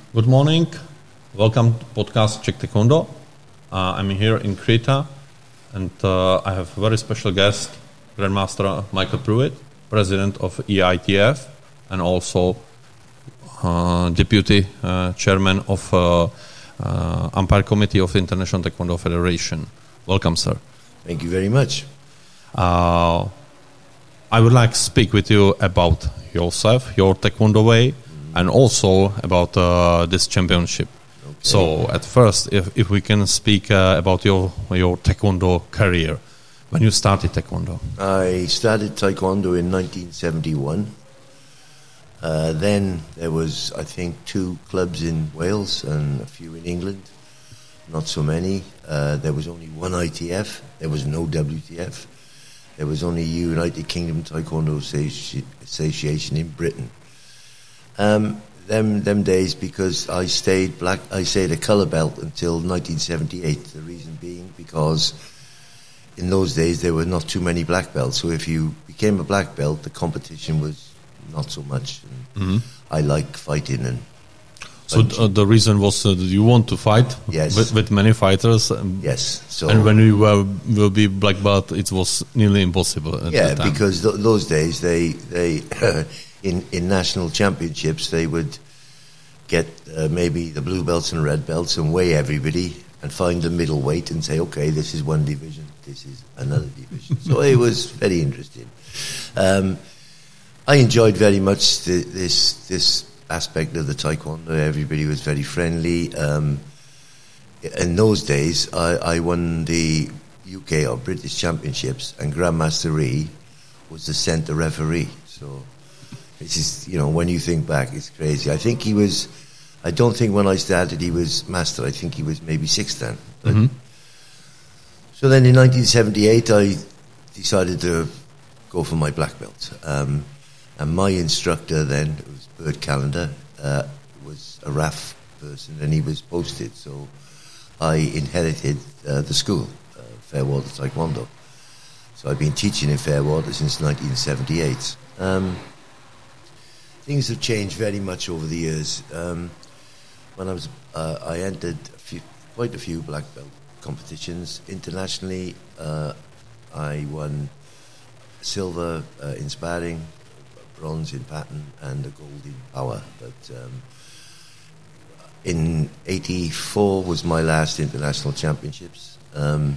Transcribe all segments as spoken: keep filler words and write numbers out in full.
Good morning. Welcome to podcast Czech Taekwondo. Uh, I'm here in Krita, and uh, I have a very special guest, Grandmaster Michael Pruitt, President of E I T F, and also uh, Deputy uh, Chairman of uh, uh, Umpire Committee of International Taekwondo Federation. Welcome, sir. Thank you very much. Uh, I would like to speak with you about yourself, your Taekwondo way, and also about uh, this championship. Okay. So, at first, if, if we can speak uh, about your your Taekwondo career, when you started Taekwondo. I started Taekwondo in nineteen seventy-one. Uh, then there was, I think, two clubs in Wales and a few in England. Not so many. Uh, there was only one I T F. There was no W T F. There was only United Kingdom Taekwondo Associ- Association in Britain. Um, them them days, because I stayed black, I stayed a colour belt until nineteen seventy-eight. The reason being because in those days there were not too many black belts. So if you became a black belt, the competition was not so much. And mm-hmm. I like fighting and. So uh, the reason was uh, that you want to fight yes. with, with many fighters. Um, yes. So and when you were will be black belt, it was nearly impossible. At yeah, that time. because th- those days they they in in national championships they would get uh, maybe the blue belts and red belts and weigh everybody and find the middleweight and say, okay, this is one division, this is another division. So it was very interesting. Um, I enjoyed very much the, this this. aspect of the Taekwondo. Everybody was very friendly. Um, in those days, I, I won the U K or British Championships, and Grandmaster Ree was the centre referee. So this is, you know, when you think back, it's crazy. I think he was, I don't think when I started he was master. I think he was maybe sixth then. Mm-hmm. So then in nineteen seventy-eight, I decided to go for my black belt. Um, and my instructor then, it was Bert Callender, uh, was a R A F person, and he was posted. So I inherited uh, the school, uh, Fairwater Taekwondo. So I've been teaching in Fairwater since nineteen seventy-eight. Um, things have changed very much over the years. Um, when I was, uh, I entered a few, quite a few black belt competitions internationally. Uh, I won silver uh, in sparring, bronze in pattern, and a gold in power. But um, in eighty-four was my last international championships, um,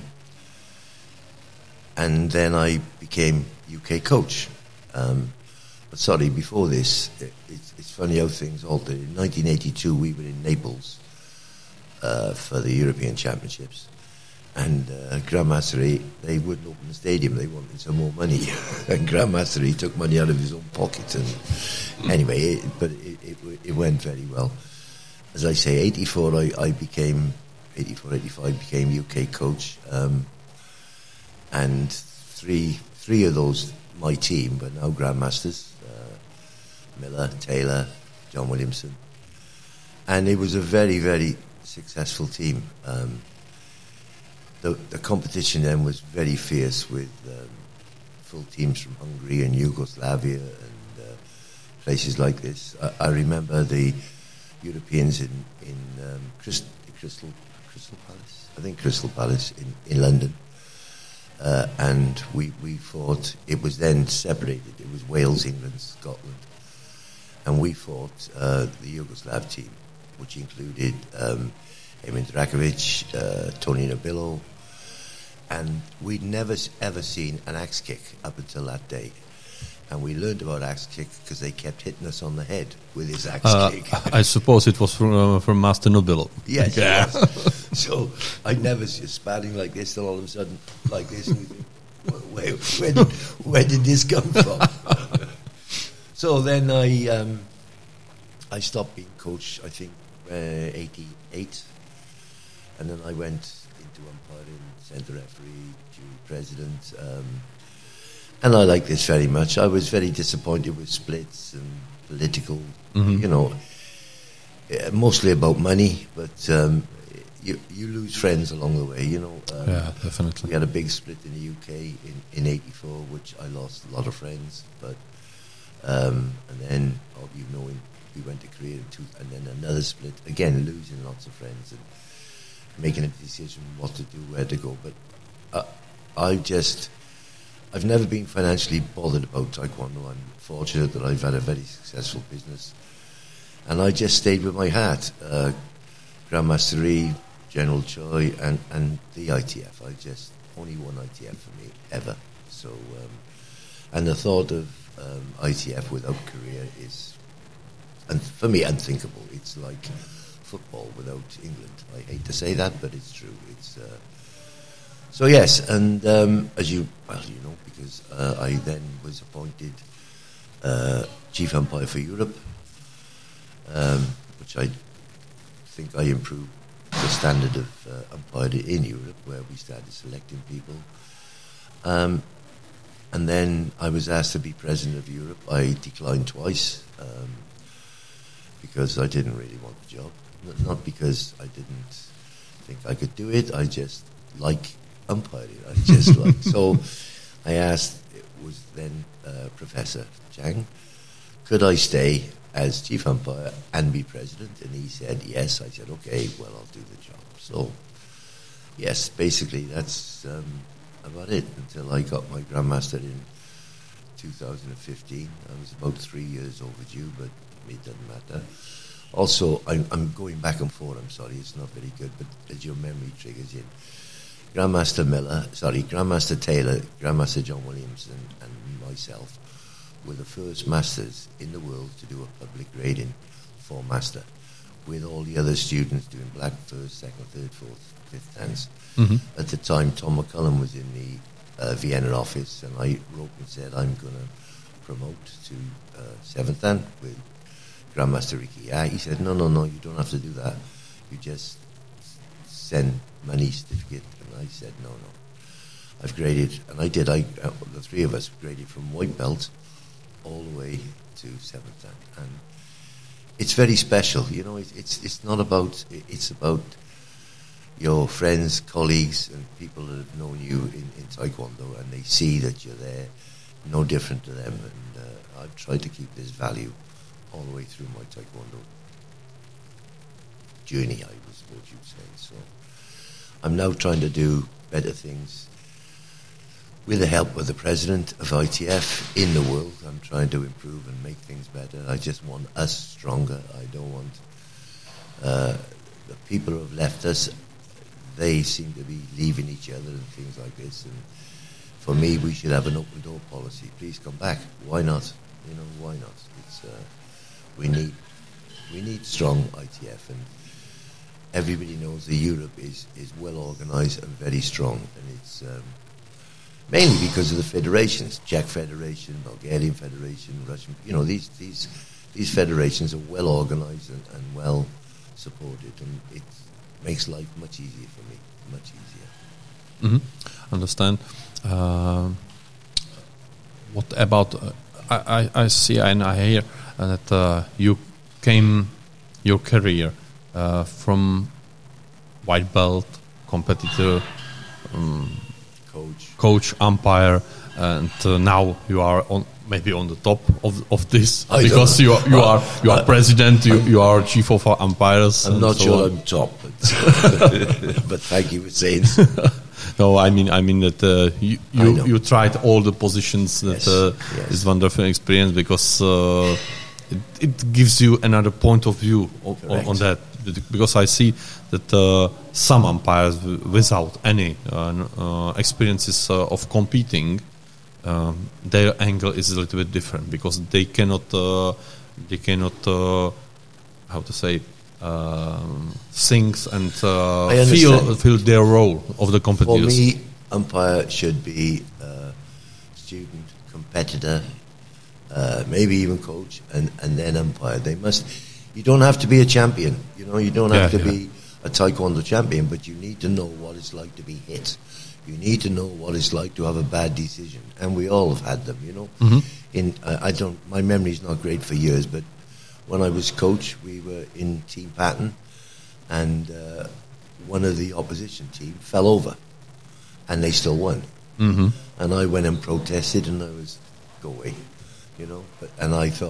and then I became U K coach. Um, but sorry, before this, it, it's, it's funny how things altered. In nineteen eighty-two, we were in Naples uh, for the European Championships. And uh, Grandmaster Ree, they wouldn't open the stadium. They wanted some more money. And Grandmaster Ree took money out of his own pocket. And anyway, it, but it, it, it went very well. As I say, eighty-four, I, I became, eighty-four, eighty-five, became U K coach. Um, and three three of those, my team, but now Grandmasters, uh, Miller, Taylor, John Williamson. And it was a very, very successful team. Um, The, the competition then was very fierce with um, full teams from Hungary and Yugoslavia and uh, places like this. I, I remember the Europeans in, in um, Crystal, Crystal, Crystal Palace, I think Crystal Palace in, in London. Uh, and we, we fought, it was then separated, it was Wales, England, Scotland. And we fought uh, the Yugoslav team, which included um, Emin Drakovic, uh, Tony Nobillo. And we'd never ever seen an axe kick up until that day. And we learned about axe kick because they kept hitting us on the head with his axe uh, kick. I suppose it was from, uh, from Master Nobillo. Yes. Yeah. Yes. So I'd never see sparring like this, and all of a sudden like this. And we think, where, where, did, where did this come from? So then I um, I stopped being coach, I think, uh, eighty-eight. And then I went into umpiring, centre referee, jury president. Um, and I like this very much. I was very disappointed with splits and political, mm-hmm. you know, mostly about money, but um, you you lose friends along the way, you know. Um, yeah, definitely. We had a big split in the U K in, in eighty-four, which I lost a lot of friends, but um, and then, you know, in we went to Korea, in two, and then another split. Again, losing lots of friends and making a decision what to do, where to go. But uh, I just, I've never been financially bothered about Taekwondo. I'm fortunate that I've had a very successful business. And I just stayed with my hat. Uh, Grandmaster Lee, General Choi, and, and the I T F. I just, only one I T F for me, ever. So, um, and the thought of um, I T F without Korea is, and for me, unthinkable. It's like football without England. I hate to say that, but it's true. It's uh, so yes, and um, as you well, you know, because uh, I then was appointed uh, chief umpire for Europe, um, which I think I improved the standard of uh, umpiring in Europe, where we started selecting people. Um, and then I was asked to be president of Europe. I declined twice um, because I didn't really want the job. N- not because I didn't think I could do it. I just like umpiring. I just like. So I asked, it was then uh, Professor Chang, could I stay as chief umpire and be president? And he said yes. I said, okay, well, I'll do the job. So yes, basically that's um, about it until I got my Grandmaster in two thousand fifteen. I was about three years overdue, but it doesn't matter. Also, I'm, I'm going back and forth. I'm sorry, it's not very good, but as your memory triggers in, Grandmaster Miller, sorry, Grandmaster Taylor, Grandmaster John Williams, and, and myself were the first masters in the world to do a public grading for master, with all the other students doing black first, second, third, fourth, fifth dance. Mm-hmm. At the time, Tom McCullum was in the uh, Vienna office, and I wrote and said, I'm going to promote to uh, seventh dan with Grandmaster Ricky. Yeah, he said, no, no, no, you don't have to do that. You just send money certificate. And I said, no, no. I've graded, and I did, I, uh, the three of us graded from white belt all the way to seventh dan. And it's very special, you know, it, it's it's not about, it's about your friends, colleagues, and people that have known you in, in Taekwondo, and they see that you're there, no different to them. And uh, I've tried to keep this value all the way through my Taekwondo journey, I was what you'd say. So I'm now trying to do better things with the help of the president of I T F in the world. I'm trying to improve and make things better. I just want us stronger. I don't want uh, the people who have left us. They seem to be leaving each other and things like this. And for me, we should have an open door policy. Please come back. Why not? You know, why not? It's uh, we need we need strong I T F, and everybody knows that Europe is is well organised and very strong, and it's. Um, Mainly because of the federations, Czech Federation, Bulgarian Federation, Russian. You know, these these these federations are well organised and, and well supported, and it makes life much easier for me, much easier. Mm-hmm. Understand. Uh, what about? Uh, I, I I see and I hear that uh, you came your career uh, from white belt competitor. Um, Coach, coach, umpire, and uh, now you are on maybe on the top of of this I because you are, you are you are president, you you are chief of umpires. I'm not so sure on. I'm top, but, but thank you for saying so. No, I mean I mean that uh, you you, you tried all the positions. That yes, uh, yes. is wonderful experience because uh, it, it gives you another point of view of, on, on that. Because I see that uh, some umpires w- without any uh, uh, experiences uh, of competing, um, their angle is a little bit different because they cannot, uh, they cannot, uh, how to say, um, think and uh, feel feel their role of the competitors. For me, umpire should be uh, student, competitor, uh, maybe even coach, and, and then umpire. They must. You don't have to be a champion, you know, you don't have yeah, to yeah. be a Taekwondo champion, but you need to know what it's like to be hit. You need to know what it's like to have a bad decision, and we all have had them, you know. Mm-hmm. In uh, I don't, my memory's not great for years, but when I was coach, we were in Team Patton, and uh, one of the opposition team fell over, and they still won. Mm-hmm. And I went and protested, and I was, go away, you know. But and I thought,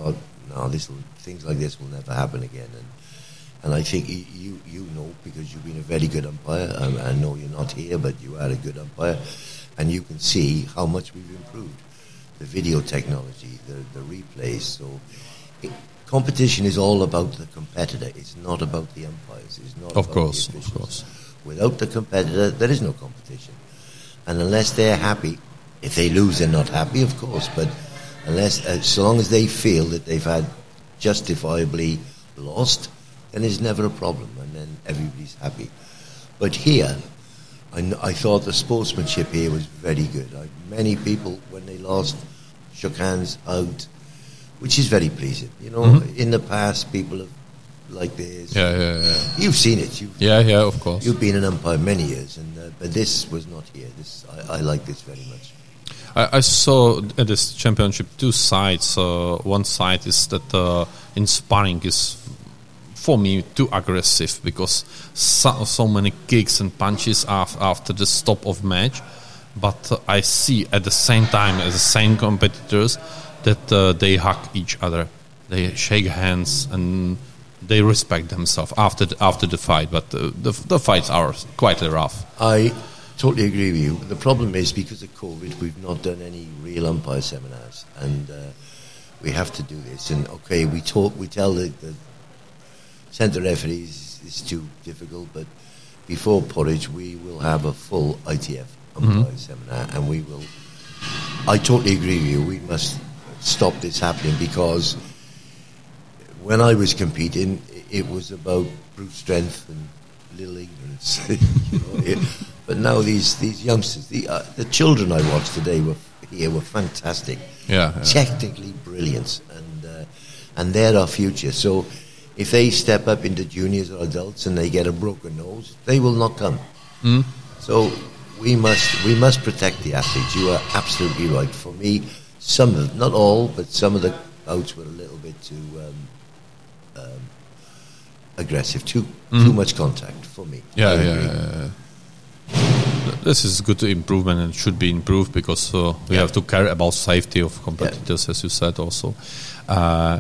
no, this will, things like this will never happen again. And and I think y- you you know, because you've been a very good umpire. Um, I know you're not here, but you are a good umpire, and you can see how much we've improved the video technology, the the replays. So it, competition is all about the competitor. It's not about the umpires. It's not Of about course, the of officials. course. Without the competitor, there is no competition. And unless they're happy, if they lose, they're not happy, of course. But unless, uh, so long as they feel that they've had justifiably lost, then it's never a problem, and then everybody's happy. But here, I, kn- I thought the sportsmanship here was very good. I, many people, when they lost, shook hands out, which is very pleasing. You know, Mhm. in the past, people have like this. Yeah, yeah, yeah. You've seen it. You've, Yeah, yeah, of course. You've been an umpire many years, and uh, but this was not here. This I, I like this very much. I, I saw at this championship two sides. Uh, one side is that uh, in sparring is, for me, too aggressive because so, so many kicks and punches af- after the stop of match. But uh, I see at the same time as the same competitors that uh, they hug each other, they shake hands, and they respect themselves after the, after the fight. But uh, the the fights are quite rough. I totally agree with you. The problem is because of COVID, we've not done any real umpire seminars, and uh, we have to do this. And okay, we talk, we tell the, the centre referees it's too difficult, but before Porridge, we will have a full I T F umpire Mhm. seminar, and we will. I totally agree with you. We must stop this happening because when I was competing, it was about brute strength and little ignorance. you know, it, but now these these youngsters, the uh, the children I watched today were here were fantastic, Yeah, yeah. technically brilliant, and uh, and they're our future. So if they step up into juniors or adults and they get a broken nose, they will not come. Mm. So we must we must protect the athletes. You are absolutely right. For me, some of not all, but some of the bouts were a little bit too um, um, aggressive, too Mhm. too much contact for me. Yeah, I yeah, agree. yeah, yeah. This is good improvement and should be improved because uh, we Yeah. have to care about safety of competitors, as you said also. Uh,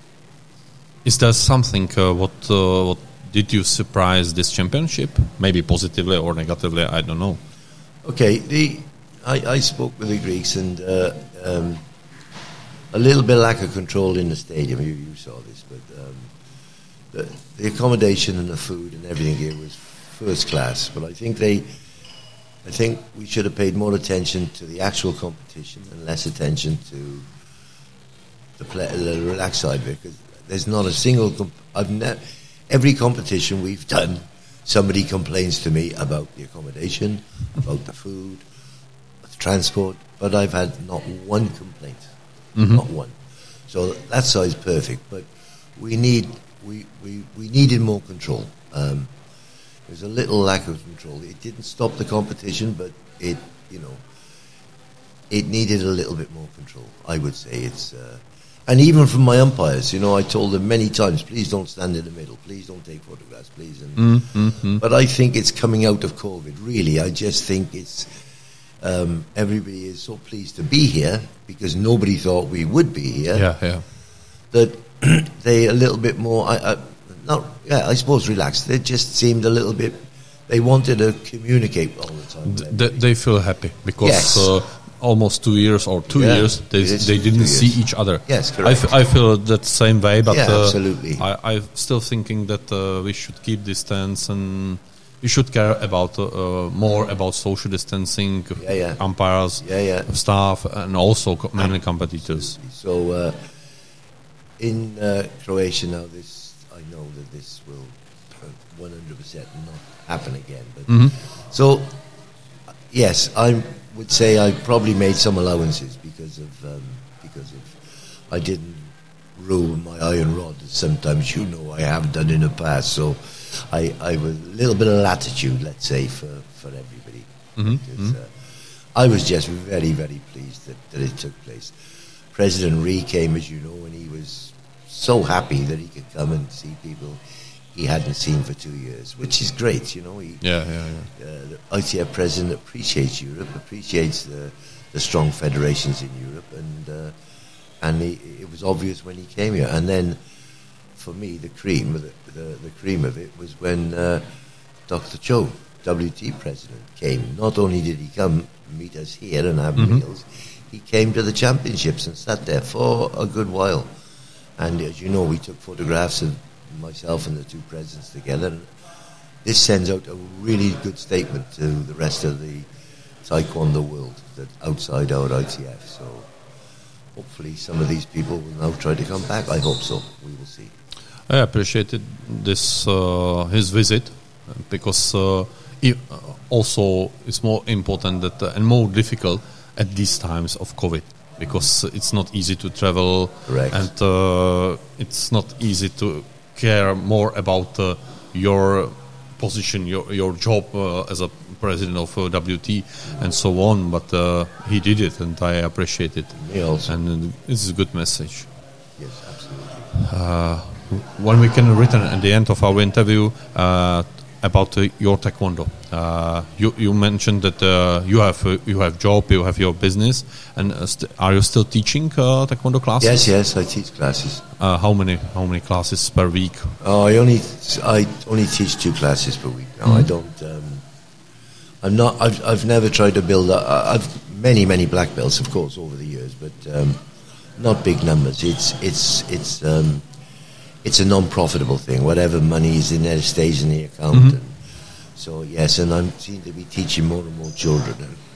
is there something uh, what uh, what did you surprise this championship? Maybe positively or negatively, I don't know. Okay, the I, I spoke with the Greeks and uh, um, a little bit lack of control in the stadium. You, you saw this, but um, the, the accommodation and the food and everything here was first class. But I think they, I think we should have paid more attention to the actual competition and less attention to the, play, the relaxed side of it. Because there's not a single. Comp- I've ne- every competition we've done, somebody complains to me about the accommodation, about the food, the transport, but I've had not one complaint, Mhm. not one. So that side's perfect, but we need we, we, we needed more control. Um, there's a little lack of control. It didn't stop the competition, but it you know it needed a little bit more control. I would say it's. Uh, And even from my umpires, you know, I told them many times, please don't stand in the middle, please don't take photographs, please. And, Mm, mm, mm. But I think it's coming out of COVID, really. I just think it's, um, everybody is so pleased to be here because nobody thought we would be here, Yeah, yeah. that they a little bit more, I, I, not, yeah, I suppose relaxed. They just seemed a little bit, they wanted to communicate all the time. with Th- everybody. they feel happy because Yes. uh, almost two years or two Yeah, years they it is they two didn't years. see each other. Yes, I, correct. f- I feel that same way, but Yeah, uh, absolutely. I, I'm still thinking that uh, we should keep distance and we should care about uh, more about social distancing, Yeah, yeah. umpires, Yeah, yeah. staff, and also co- mainly competitors. So uh, in uh, Croatia now, this I know that this will one hundred percent not happen again. But Mhm. so yes, I would say I probably made some allowances because of um, because of I didn't rule my iron rod. Sometimes you know I have done in the past. So I I was a little bit of latitude, let's say, for for everybody. Mhm, Because, uh, I was just very, very pleased that, that it took place. President Ree came, as you know, and he was so happy that he could come and see people he hadn't seen for two years, which is great, you know. He, Yeah, yeah, yeah. uh, the I T F president appreciates Europe, appreciates the, the strong federations in Europe, and uh, and he, it was obvious when he came here. And then, for me, the cream, the, the, the cream of it was when uh, Doctor Cho, W T president, came. Not only did he come meet us here and have mm-hmm. meals, he came to the championships and sat there for a good while. And as you know, we took photographs of myself and the two presidents together. And this sends out a really good statement to the rest of the Taekwondo world that outside our I T F. So hopefully some of these people will now try to come back. I hope so. We will see. I appreciated this uh, his visit because uh, it also it's more important that uh, and more difficult at these times of COVID, because it's not easy to travel. Correct. And uh, it's not easy to care more about uh, your position, your your job uh, as a president of uh, W T and so on. But uh, he did it, and I appreciate it. Me also. And it's a good message. Yes, absolutely. Uh, when we can return at the end of our interview uh, about uh, your taekwondo, uh, you you mentioned that uh, you have uh, you have job, you have your business, and uh, st- are you still teaching uh, taekwondo classes? Yes, yes, I teach classes. Uh, how many how many classes per week? Oh, I only I only teach two classes per week. No, mm-hmm. I don't. Um, I'm not. I've I've never tried to build. A, I've many many black belts, of course, over the years, but um, not big numbers. It's it's it's. Um, It's a non-profitable thing. Whatever money is in there stays in the account. Mm-hmm. And so, yes, and I seem to be teaching more and more children.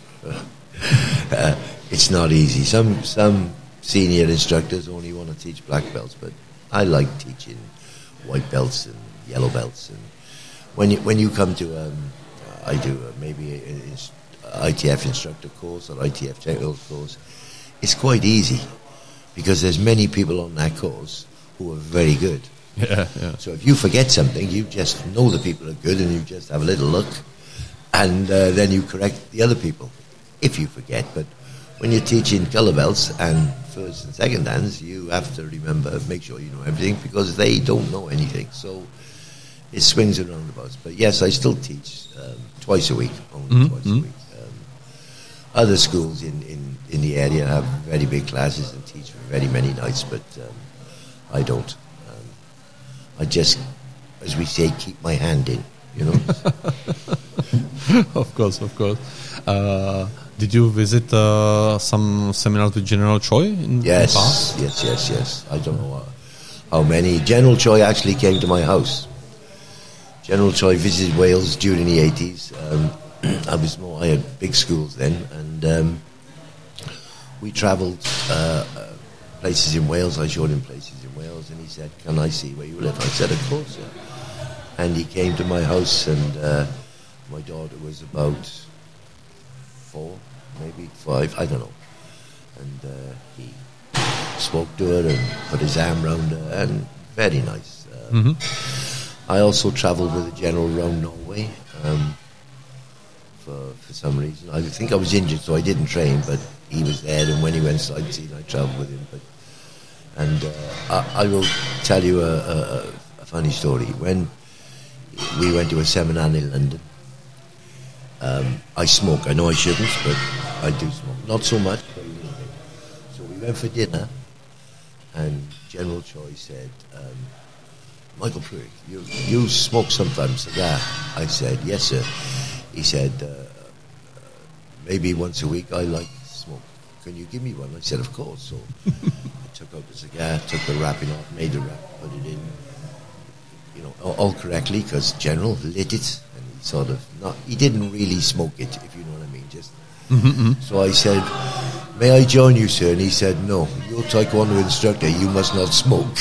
uh, it's not easy. Some some senior instructors only want to teach black belts, but I like teaching white belts and yellow belts. And when you when you come to, um, I do uh, maybe an I T F instructor course or I T F technical course, it's quite easy because there's many people on that course who are very good. Yeah, yeah. So if you forget something, you just know the people are good and you just have a little look and uh, then you correct the other people if you forget. But when you're teaching color belts and first and second dans, you have to remember, make sure you know everything because they don't know anything. So it swings and roundabouts. But yes, I still teach um, twice a week, only mm-hmm. twice mm-hmm. a week. Um, other schools in, in, in the area have very big classes and teach for very many nights, but um, I don't. Um, I just, as we say, keep my hand in, you know. Of course, of course. Uh, did you visit uh, some seminars with General Choi in yes, the past? Yes, yes, yes. I don't know how, how many. General Choi actually came to my house. General Choi visited Wales during the eighties. Um, I was more. I had big schools then, and um, we travelled uh, uh, places in Wales. I showed him places in Wales, and he said, "Can I see where you live?" I said, "Of course, sir." And he came to my house, and uh, my daughter was about four, maybe five, I don't know. And uh, he spoke to her and put his arm round her, and very nice. Um, mm-hmm. I also travelled with a general around Norway um, for for some reason. I think I was injured, so I didn't train, but he was there, and when he went sightseeing, I travelled with him. But and uh, I, I will tell you a, a, a funny story. When we went to a seminar in London, um, I smoke. I know I shouldn't, but I do smoke. Not so much, but a little bit. So we went for dinner, and General Choi said, um, "Michael Pruitt, you you smoke sometimes cigar?" I said, "Yes, sir." He said, uh, "Maybe once a week. I like smoke. Can you give me one?" I said, "Of course." So I took out the cigar, took the wrapping off, made the wrap, put it in, you know, all, all correctly, because General lit it, and he sort of not. He didn't really smoke it, if you know what I mean. Just mm-hmm. So I said, "May I join you, sir?" And he said, "No, you're Taekwondo instructor. You must not smoke."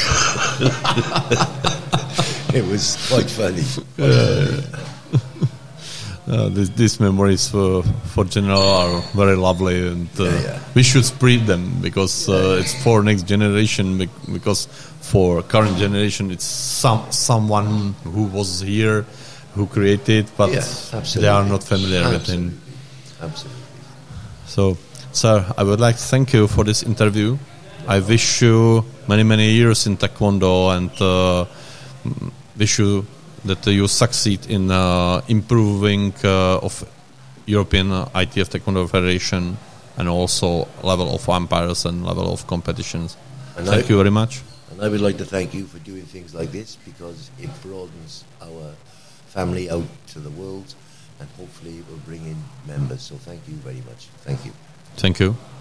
It was quite funny. Quite uh, funny. Uh, this, these memories for, for General are very lovely, and uh, yeah, yeah. we should spread them, because uh, yeah, yeah. it's for next generation, because for current generation it's some someone who was here, who created, but yes, they are not familiar absolutely. with him. Absolutely. So, sir, I would like to thank you for this interview. I wish you many, many years in Taekwondo, and uh, wish you that uh, you succeed in uh, improving uh, of European uh, I T F Taekwondo Federation and also level of umpires and level of competitions. And Thank I, you very much. And I would like to thank you for doing things like this, because it broadens our family out to the world, and hopefully it will bring in members. So thank you very much. Thank you. Thank you.